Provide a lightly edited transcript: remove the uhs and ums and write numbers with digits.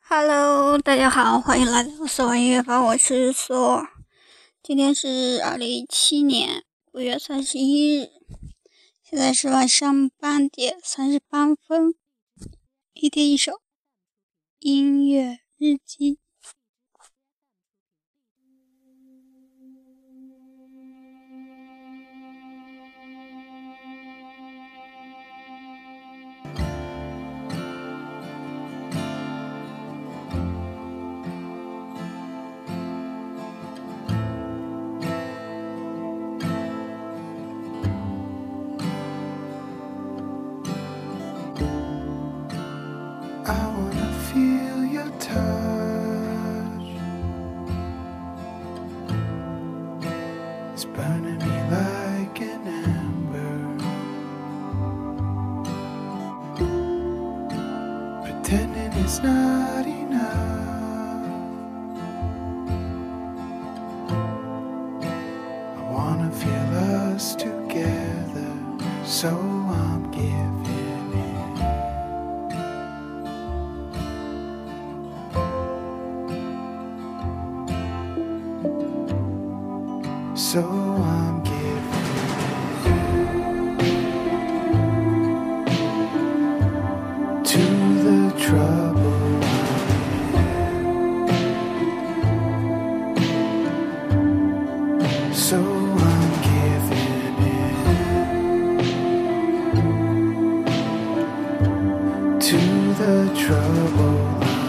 Hello，大家好，欢迎来到索玩音乐坊，我是索。今天是2017年5月31日，现在是晚上8点38分。一天一首音乐日记。 I wanna feel your touch. It's burning me like an ember. Pretending it's not enough. I wanna feel us together, so I'm giving So I'm giving to the trouble So I'm giving to the trouble